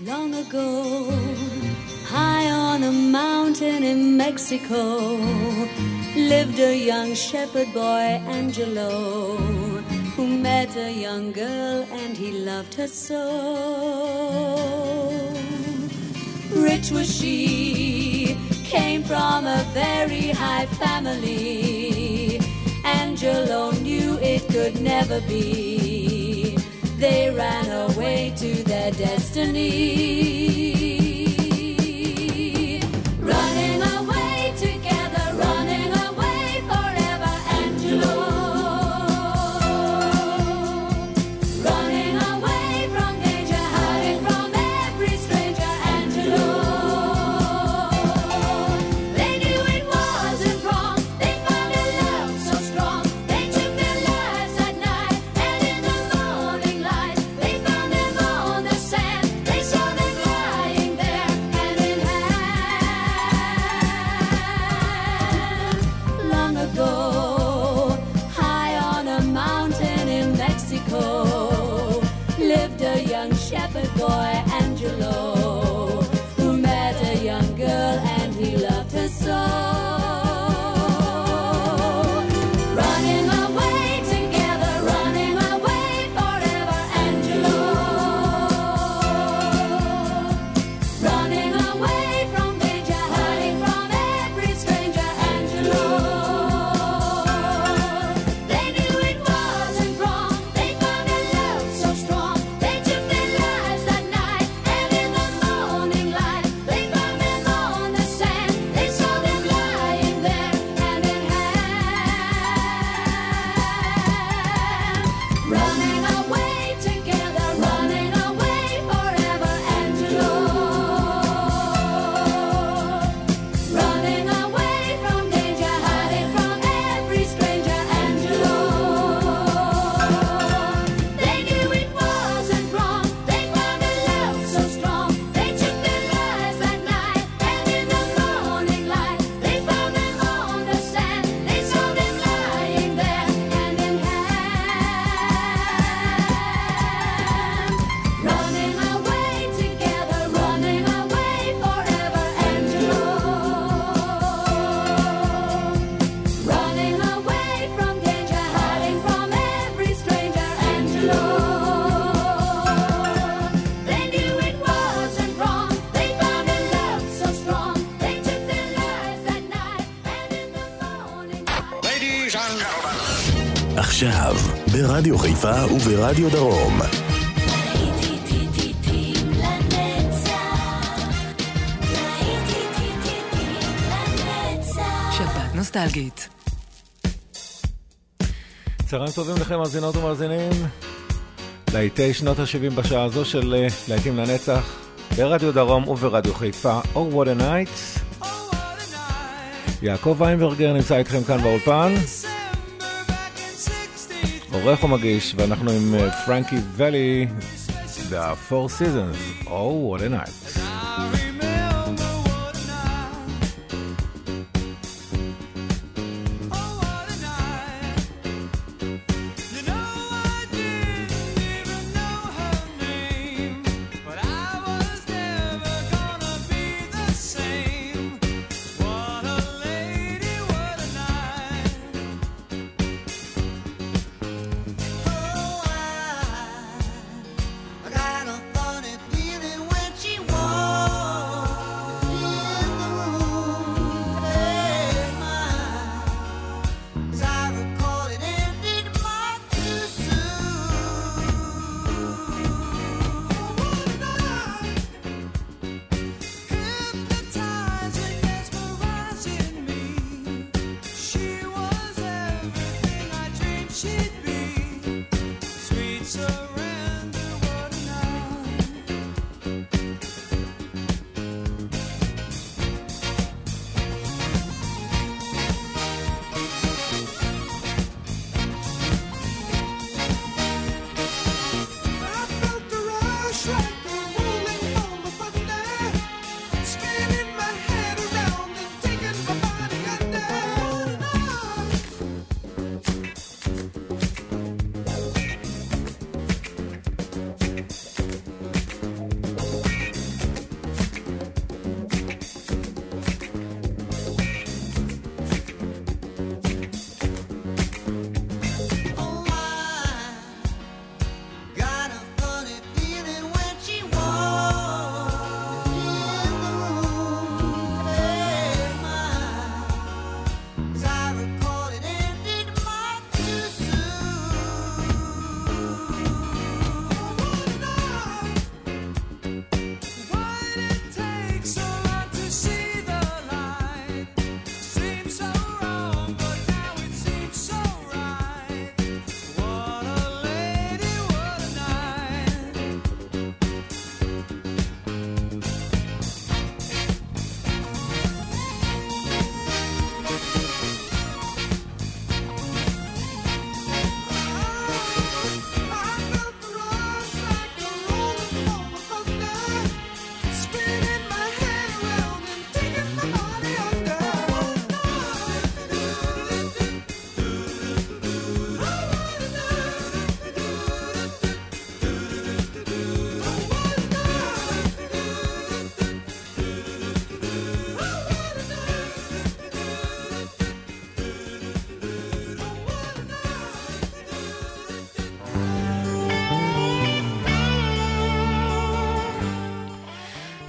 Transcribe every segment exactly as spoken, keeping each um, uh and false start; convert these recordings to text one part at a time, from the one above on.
Long ago, high on a mountain in Mexico, lived a young shepherd boy, Angelo, who met a young girl and he loved her so. Rich was she, came from a very high family. Angelo knew it could never be. They ran away to their destiny. Running away together, running away forever, Angelo. Running away from danger, hiding from every stranger, Angelo. They knew it wasn't wrong, they found a love so strong. They took their lives at night, and in the morning light, they found them on the sand. They saw them lying there, hand in hand. Long ago, high on a mountain in Mexico, lived a young shepherd boy, Angelo, who met a young girl and he loved her so. Running away together, running away forever, Angelo. Running away from danger, hiding from every stranger, Angelo. They knew it wasn't wrong, they found a love so strong. They took their lives that night, and in the morning light, they found them on the sand. They saw them lying there, hand in hand. Running away together, running away forever, Angelo. Running away from danger, hiding from every stranger, Angelo. They knew it wasn't wrong, they found a love so strong. They took their lives that night, and in the morning light, they found them on the sand. They saw them lying there, hand in hand. Running away together, running away forever, Angelo. Running away from danger, hiding from every stranger, Angelo. They knew it wasn't wrong, they found a love so strong. They took their lives that night, and in the morning light. Ladies and gentlemen. עכשיו, ברדיו חיפה וברדיו דרום. שבת נוסטלגית. צהריים טובים לכם מאזינות ומאזינים. להיטי שנות ה-שבעים בשעה הזו של אה, להיטים לנצח ברדיו דרום וברדיו חיפה. Oh what a night. יעקב ויינברגר נמצא איתכם כאן באולפן, עורך ומגיש, ואנחנו עם אה, פרנקי ולי, The Four Seasons. Oh what a night. I got a funny feeling when she walks.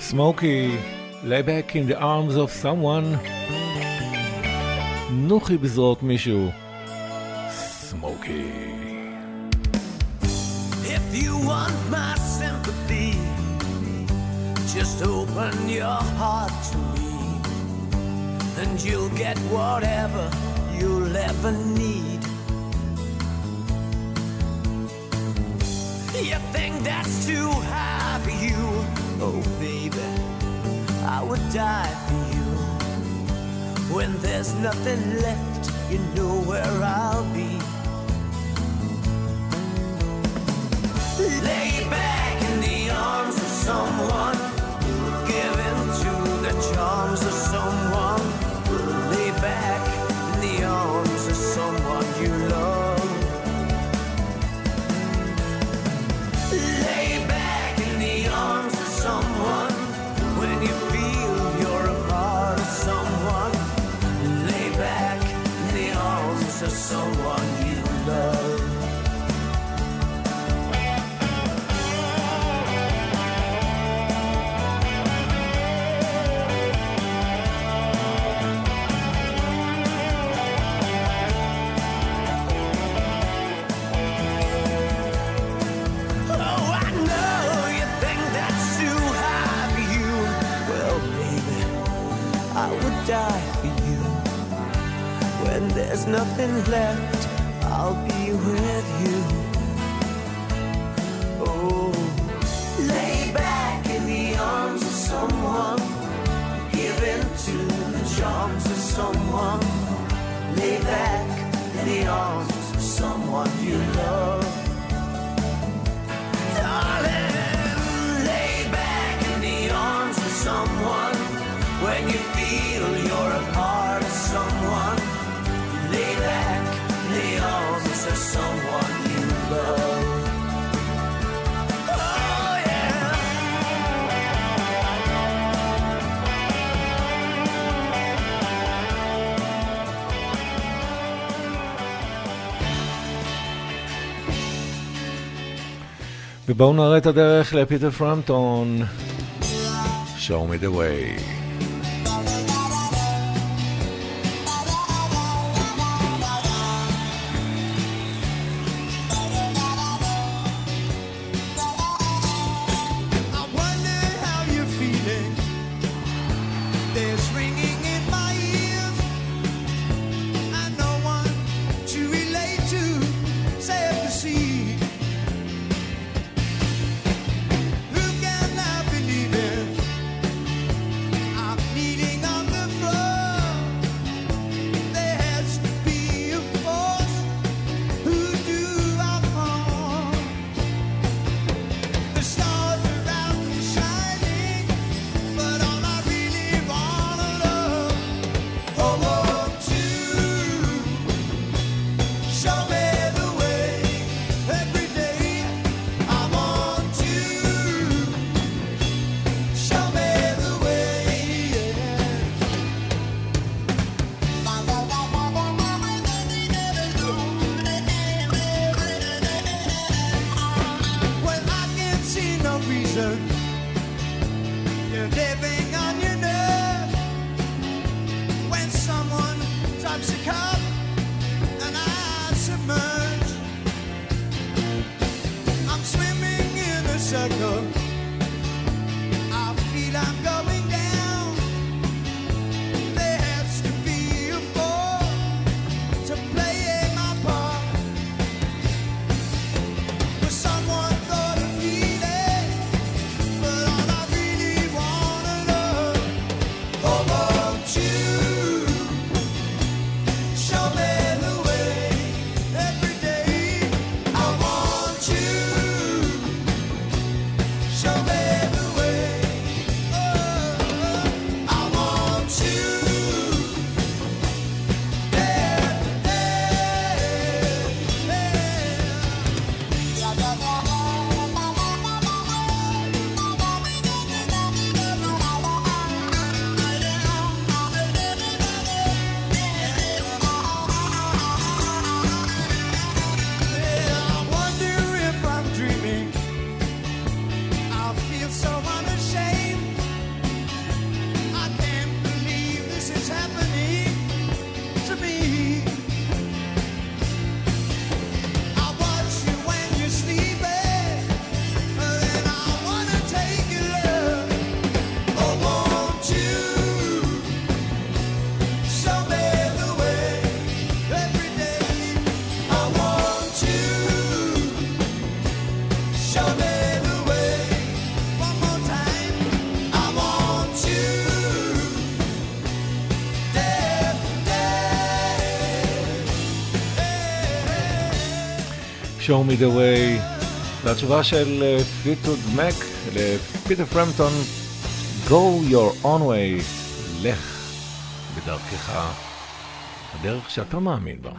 סמוקי, lay back in the arms of someone. נוחי בזרועות מישהו. סמוקי. If you want my sympathy, just open your heart to me, and you'll get whatever you'll ever need. You think that's too high for you? Oh baby, I would die for you. When there's nothing left, you know where I'll be. Lay back in the arms of someone, give in to the charms of someone. Lay back in the arms of someone you love. Lay back in the arms of someone when you feel you're a part of someone. Lay back in the arms of someone you love. Die for you. When there's nothing left, I'll be with you. Oh, lay back in the arms of someone, give in to the charms of someone. Lay back in the arms of someone you love. Darling, lay back in the arms of someone when you feel you're a part of someone. Lay back in the arms of someone you love. Oh yeah. ובואו נראה את הדרך לפיטר פרמפטון. Show me the way. Show me the way. Show me the way. והתשובה של פליטווד מק לפיטר פרמפטון, Go your own way. לך בדרכך, הדרך שאתה מאמין בה.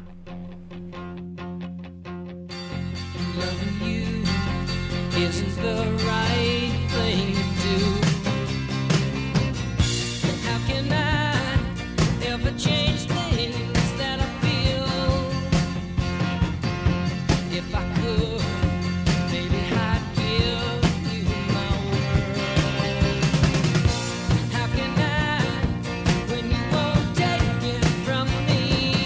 Loving you isn't the right thing to do. And how can I ever change things that I feel? If I could, maybe I'd give you my world. How can I, when you won't take it from me?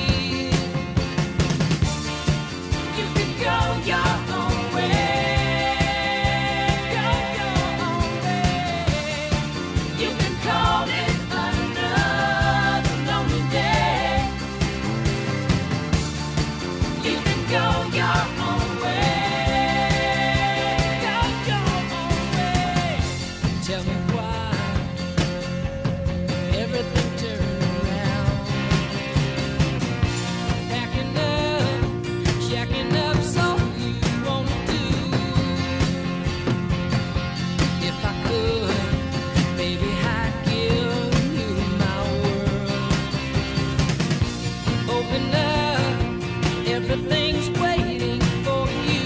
You can go your own way. Go your own way. You can call it another lonely day. You can go your own way. Go your own way. Tell me why everything turned around. Packing up, jacking up, so you won't do. If I could, maybe I'd give you my world. Open up, everything's waiting for you.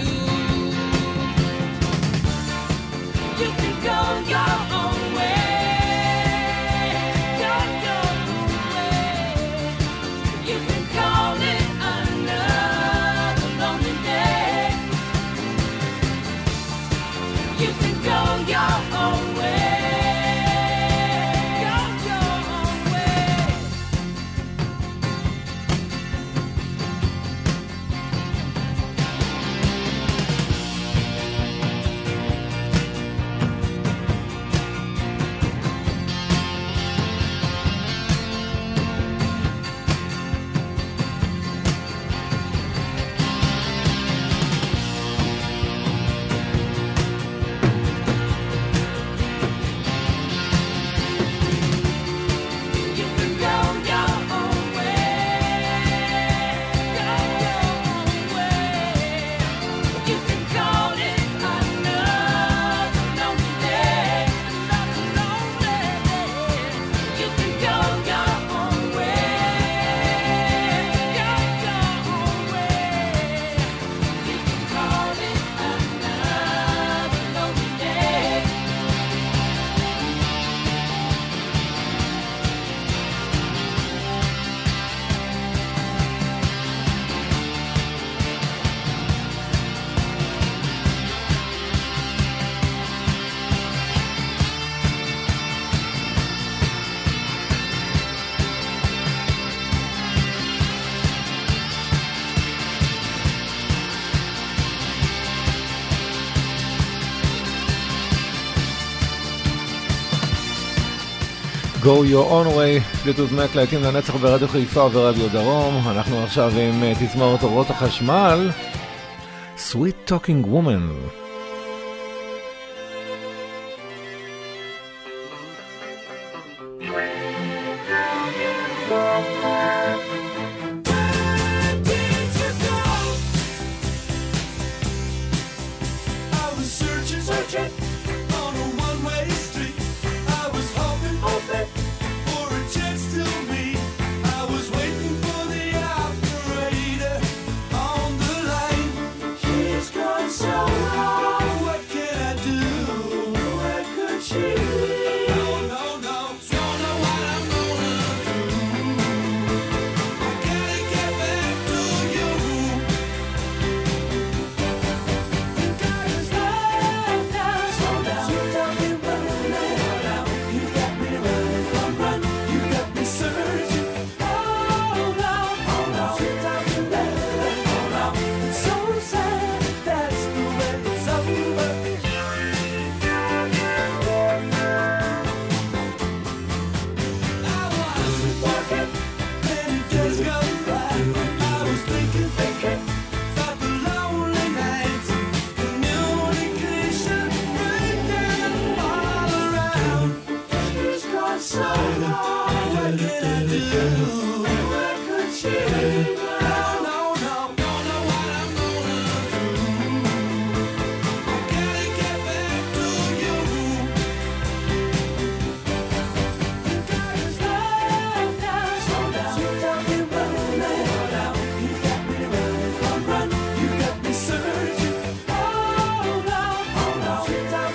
You can go your own way. Go your own way. You can call it another lonely day. You can go your own way. Go your own way. You can go your own way. Go your own way. You can call it another lonely day. Another lonely day. You can go your own way. Go your own way. You can call it another lonely day. Go your own way, פליטווד מק להיטים לנצח ברדיו חיפה וברדיו דרום. אנחנו עכשיו עם uh, תזמורת אורות החשמל, Sweet Talking Woman. I was searching, searching on a one-way street. I was hoping, hoping for a chance to meet. I was waiting for the operator on the line. She's gone so wrong. What can I do? Where could she be? No, no, no. Don't know what I'm gonna do. I gotta get back to you. Think I was left out.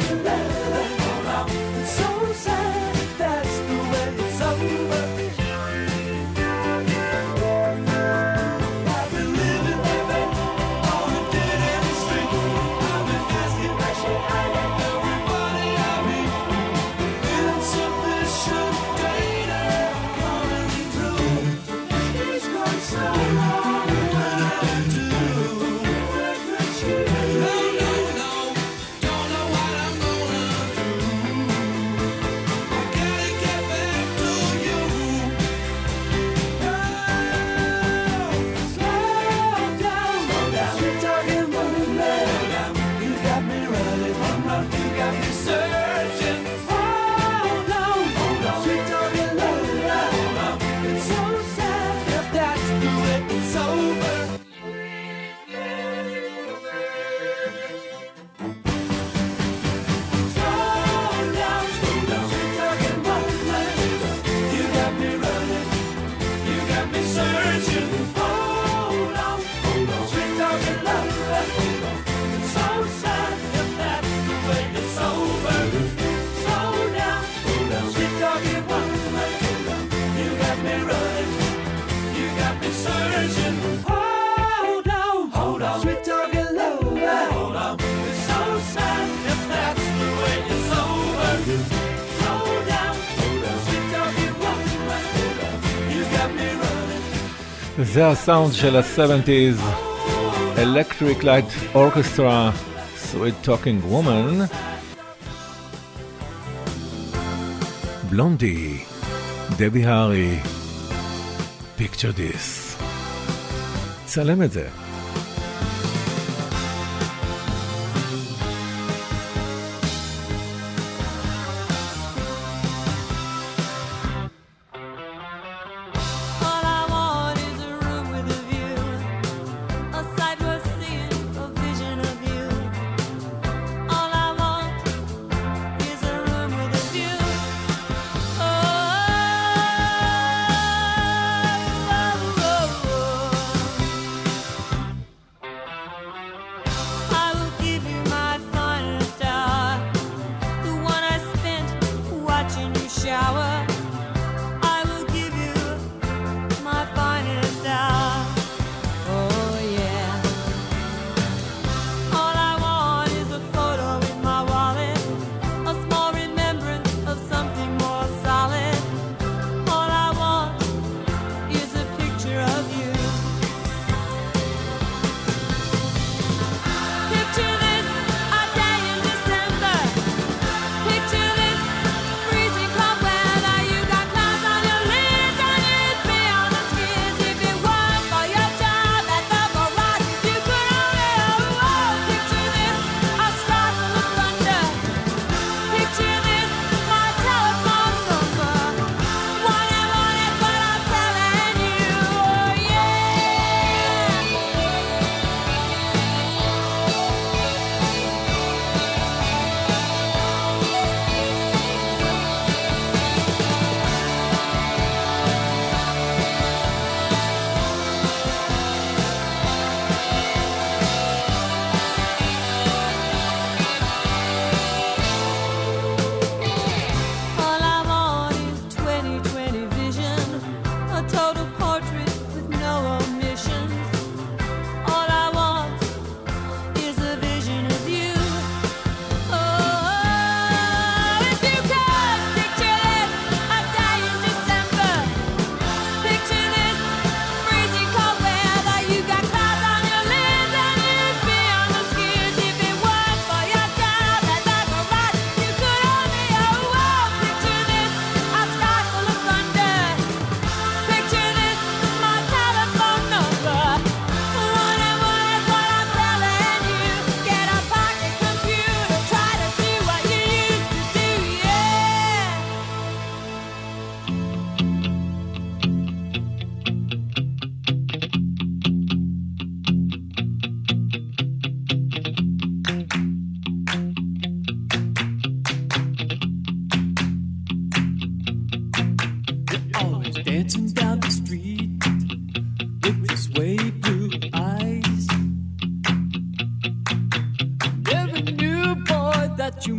זה הסאונד של ה-שבעים, Electric Light Orchestra, Sweet Talking Woman, בלונדי, דבי הארי, Picture This. צלם את זה.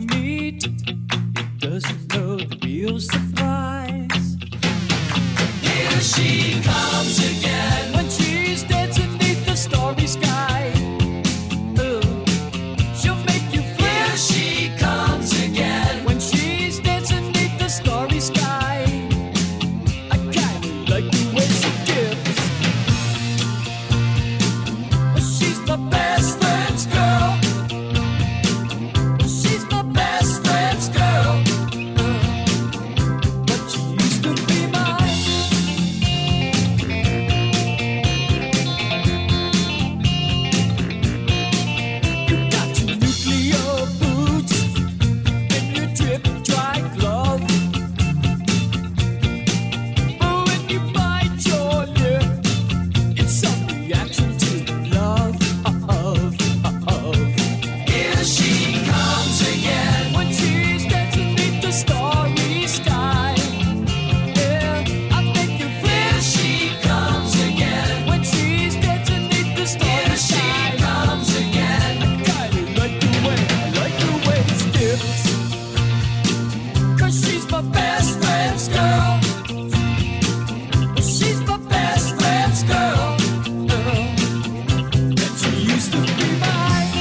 meet, it doesn't know the real surprise. Here she comes again when she's dancing beneath the starry sky. Oh, she'll make you feel. Here she comes again when she's dancing beneath the starry sky. I kinda like the way she dips. She's my best friend's girl. She's my best friend's girl. But she used to be mine. You got your nuclear boots and your drip dry glove. But when you bite your lip, it's some reaction to love. Here she comes again when she's dancing beneath the starry sky. Yeah, I make you feel. Here she comes again when she's dancing beneath the starry sky. Here she comes again. I kinda like the way, I like the way it skips. 'Cause she's my best friend's girl. She's my best friend's girl. That she used to be mine.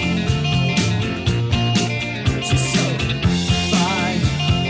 She's so fine.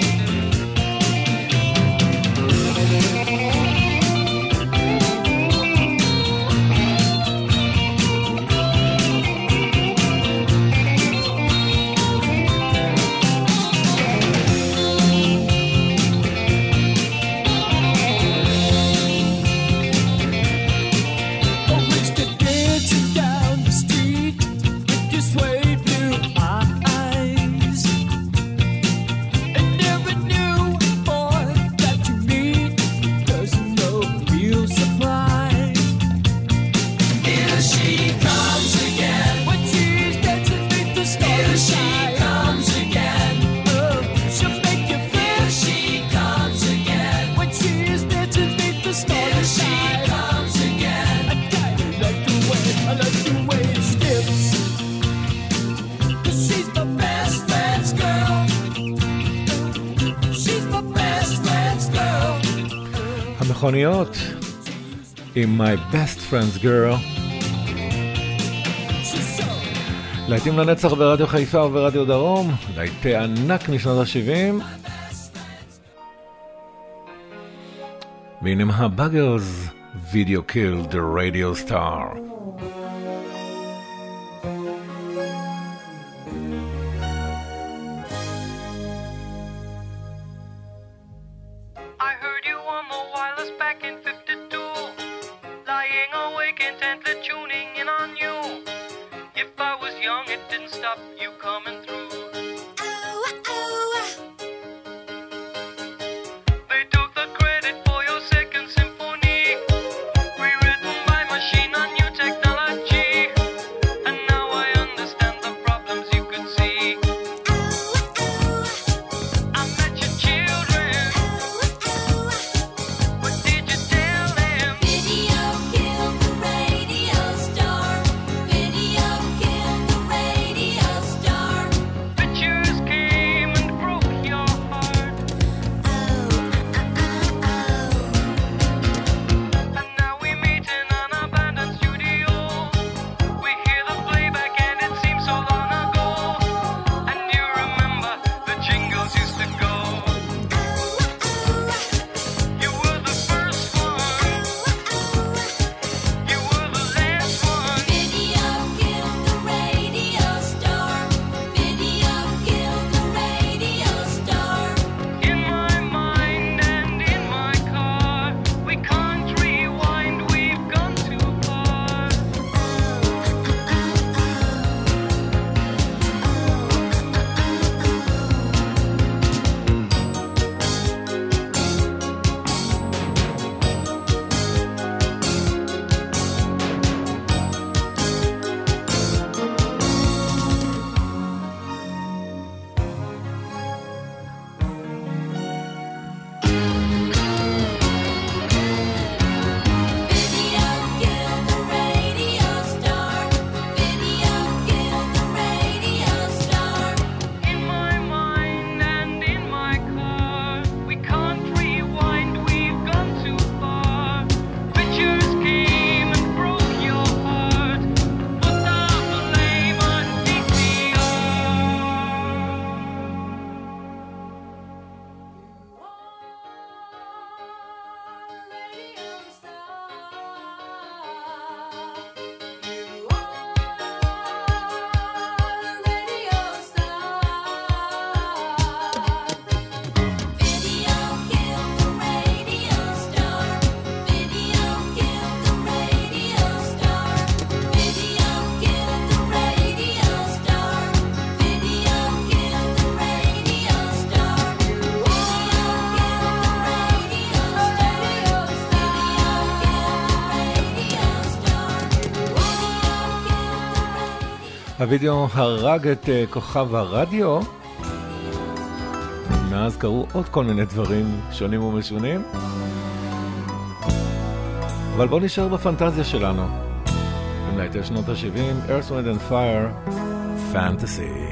Oh, it's the dancing down the street with your suede blue eyes. And never knew, boy, that you meet doesn't know real surprise. Here she comes again when she's dancing beneath the starry sky. Here she comes again. Oh, she'll make you feel. Here she comes again when she's dancing beneath the starry sky. Here she comes again. I kinda like the way, I like the way it skips. 'Cause she's my best friend's girl. She's my best friend's girl. המכוניות עם My Best Friend's Girl, She's so להיטים לנצח ברדיו חיפה וברדיו דרום, להיטי ענק משנות ה-שבעים. והנה הבאגרס, Video Killed the Radio Star. I heard you on the wireless back in fifty-two, lying awake intently tuning in on you. If I was young, it didn't stop you coming through. They took the credit for your second symphony, rewritten by machine on new technology. And now I understand the problems you could see. I met your children. What did you tell them? Video killed the radio star. Video killed the radio star. הווידאו הרג את uh, כוכב הרדיו. מאז קרו עוד כל מיני דברים שונים ומשונים. אבל בואו נשאר בפנטזיה שלנו. עם להיטל שנות ה-שבעים, Earth, Wind and Fire, Fantasy.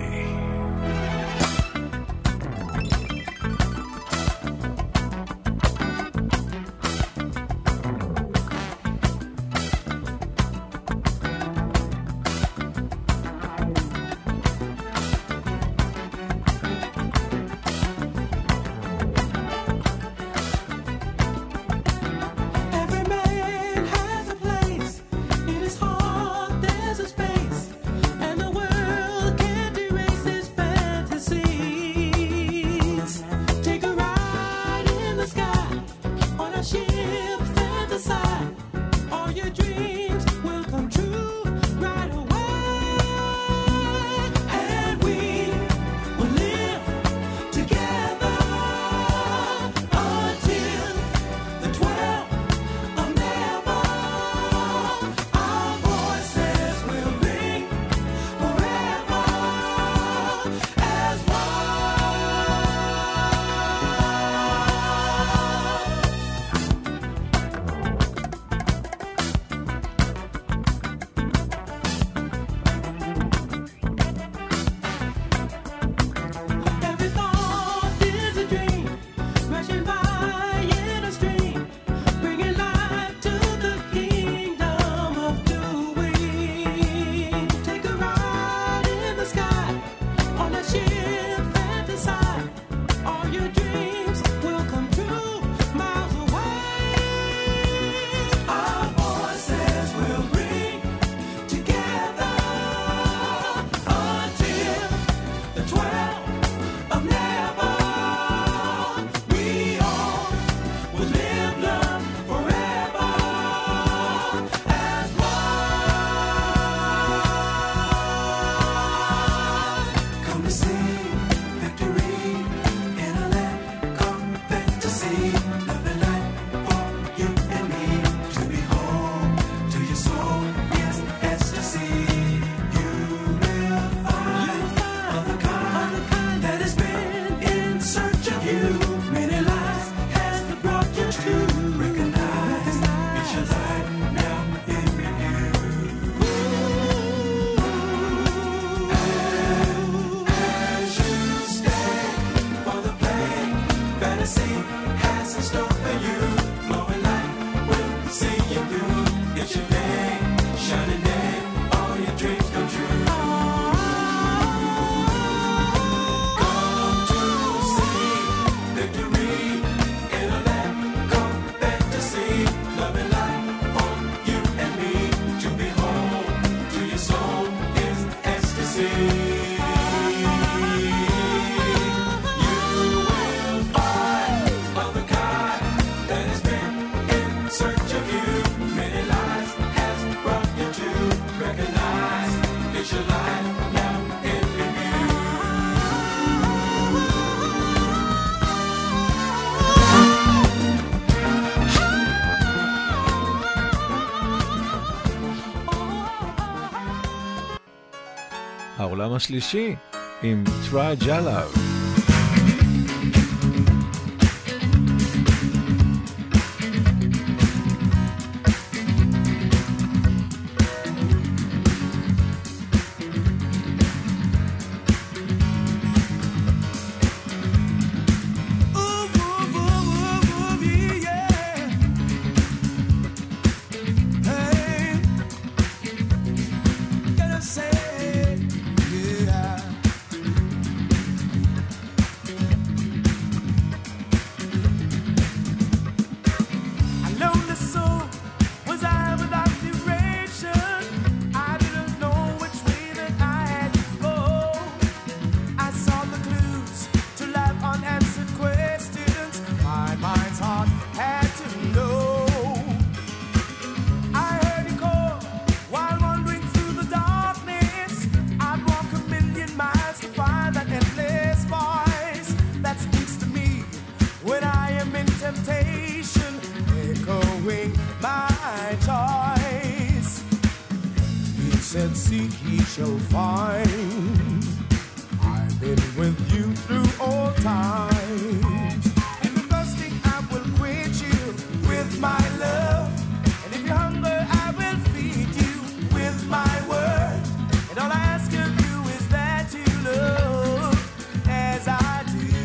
העולם השלישי עם Try Jalav. and seek ye shall find. I've been with you through all times. If you're thirsty, I will quench you with my love. And if you're hungry, I will feed you with my word. And all I ask of you is that you love as I do.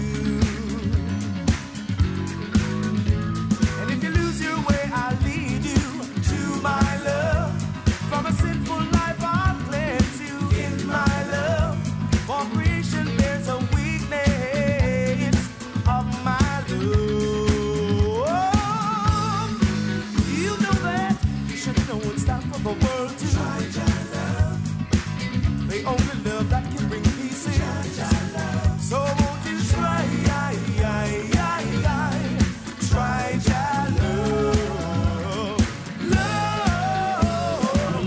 And if you lose your way, I'll lead you to my love. From a sinful life, I'll cleanse you in my love. For creation bears a weakness of my love. You know that, you should know it's time for the world to try your love. The only love that can bring peace is so won't you try, try your love, love.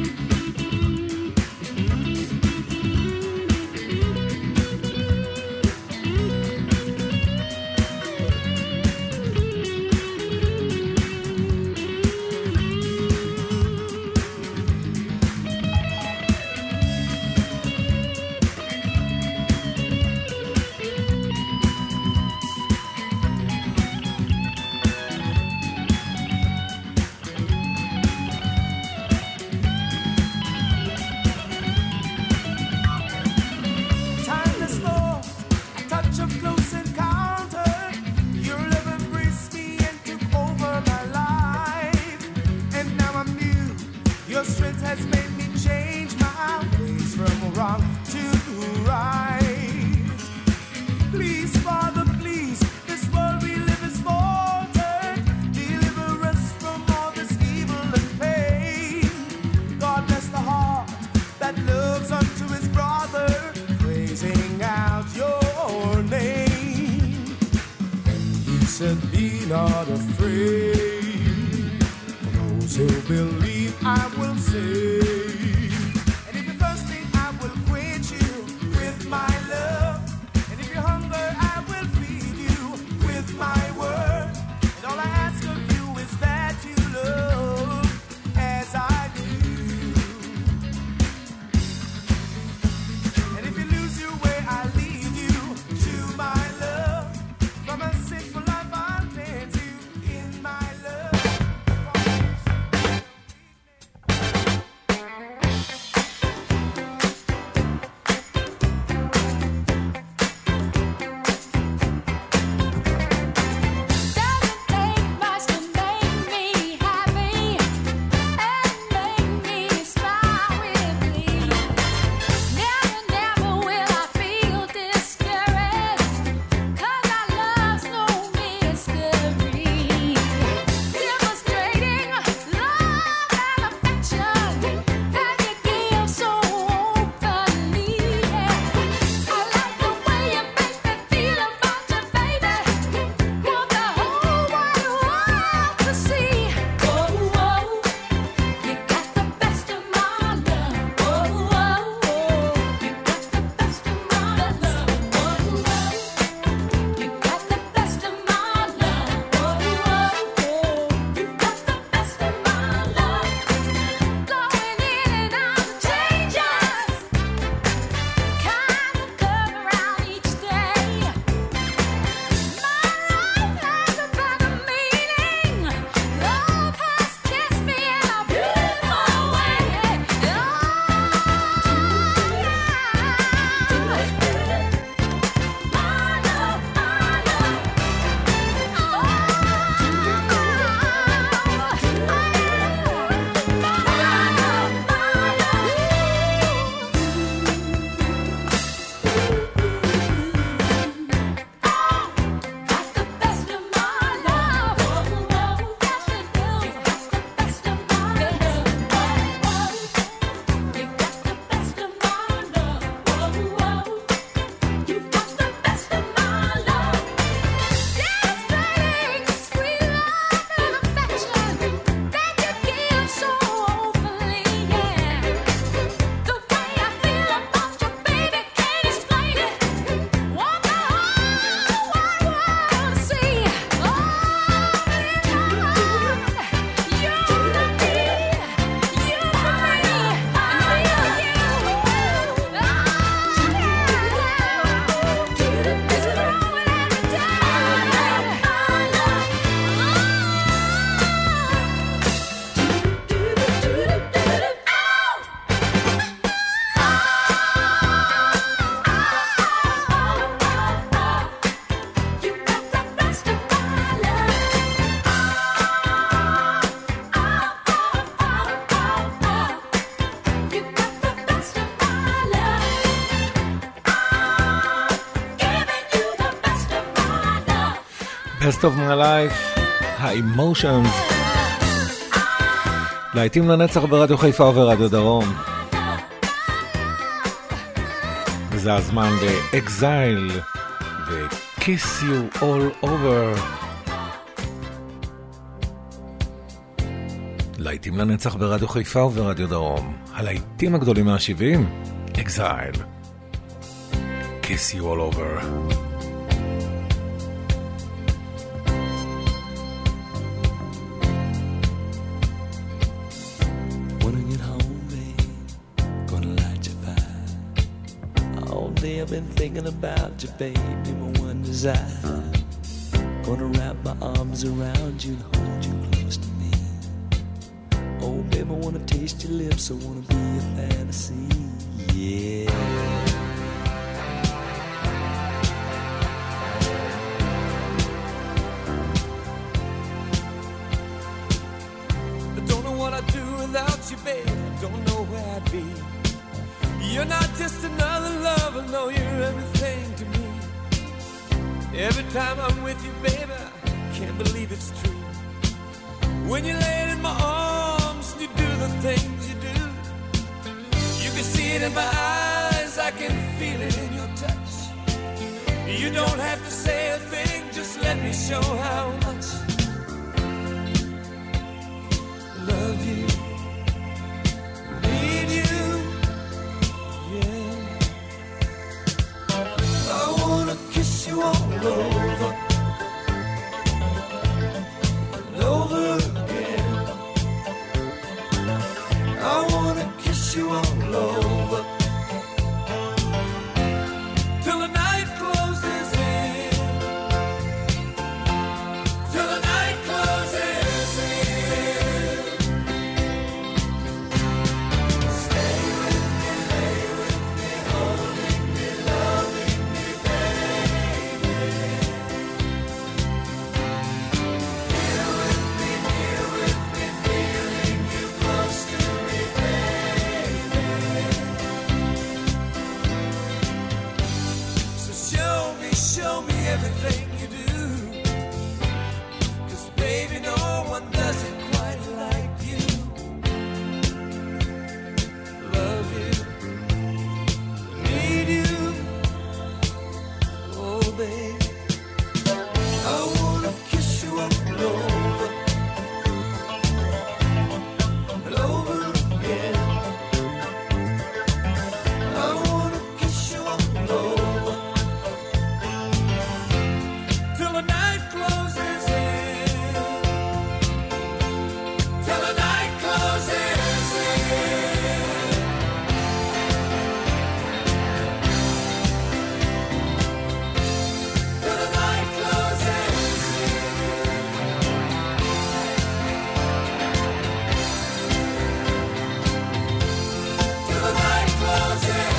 Time to slow, a touch of close encounter. Your love embraced me and took over my life. And now I'm new. Your strength has made me change my ways from wrong to right. Please, Father, please, this world we live is faltered. Deliver us from all this evil and pain. God bless the heart that loves unto his brother, praising out your name. And he said, be not afraid. For those who believe, I will save. And if you're thirsty, I will quench you with my love. And if you're hungry, I will feed you with my word. And all I ask of you is that you love as I do. And if you lose your way, I'll lead you to my love. From a sinful life, I'll cleanse you in my love. Best of my life, ה-Emotions. להיטים לנצח ברדיו חיפה וברדיו דרום. וזה הזמן ל-Exile ו-Kiss You All Over. להיטים לנצח ברדיו חיפה וברדיו דרום. הלהיטים הגדולים מה-שבעים, Exile. Kiss You All Over. I've been thinking about you, baby, my one desire. Gonna wrap my arms around you and hold you close to me. Oh, baby, I wanna taste your lips, I wanna be a fantasy, yeah. I don't know what I'd do without you, baby. Don't know where I'd be. You're not just another lover, no, you're everything to me. Every time I'm with you, baby, I can't believe it's true. When you lay in my arms, you do the things you do. You can see it in my eyes, I can feel it in your touch. You don't have to say a thing, just let me show how much I love you. Kiss you all over and over again. I wanna kiss you all over till the night closes in. Till the night closes in. Stay with me, lay with me, holding me, loving me, baby. Show me everything you do, 'cause baby, no one does it quite like you. Love you, need you, oh baby. I wanna kiss you all over and over again. I wanna kiss you all over till the night closes in. Till the night closes in. Till the night closes in. Till the night closes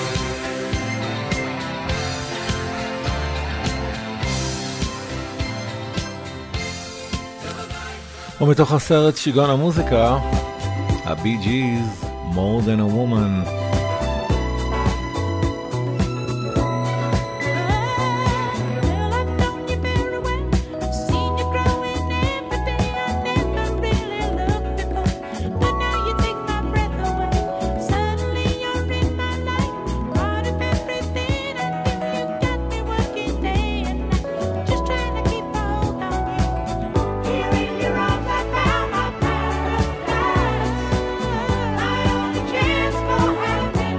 ומתוך הסרט שיגעון המוזיקה, הבי ג'יז, More Than a Woman. Chance for happiness.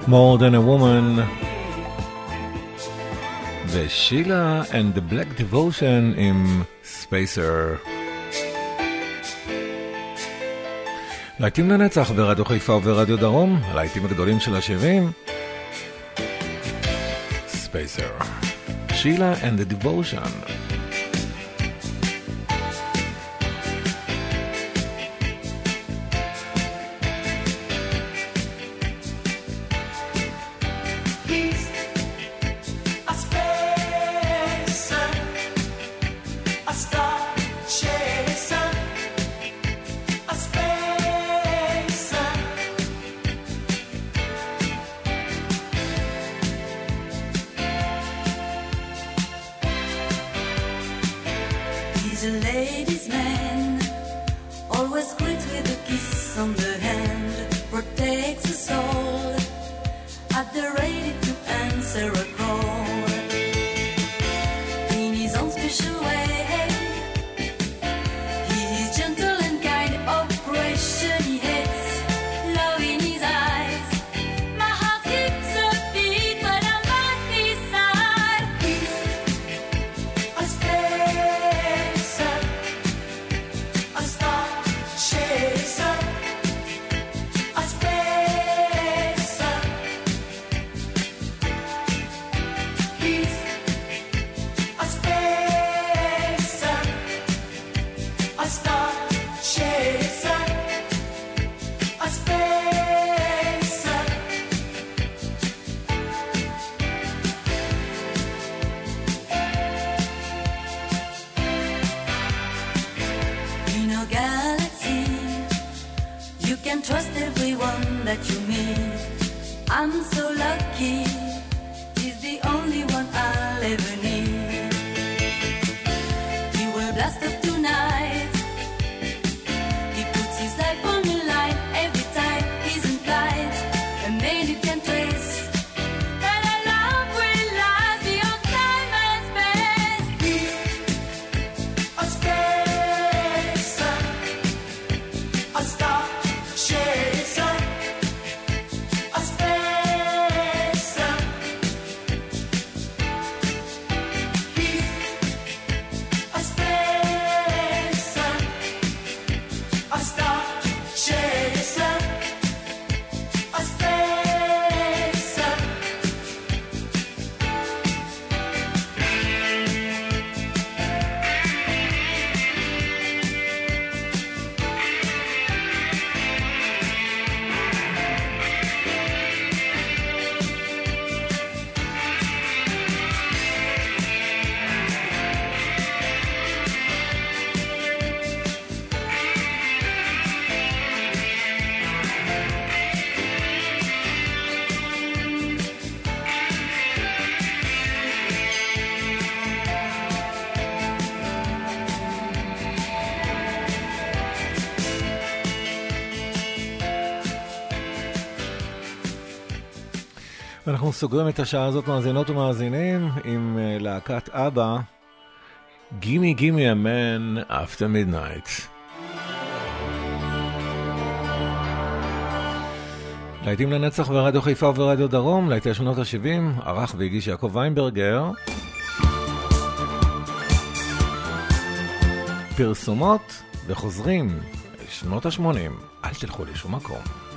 More Than a Woman ושילה and the Black Devotion עם Spacer. להיטים לנצח ברדיו חיפה וברדיו דרום, הלהיטים הגדולים של ה-שבעים. Spacer, שילה and the Devotion. אנחנו סוגרים את השעה הזאת מאזינות ומאזינים עם uh, להקת אבא, Gimme Gimme a Man After Midnight. להיטים לנצח ברדיו חיפה וברדיו דרום, להיטי שנות ה-שבעים, ערך והגיש יעקב ויינברגר. פרסומות וחוזרים לשנות ה-שמונים, אל תלכו לשום מקום.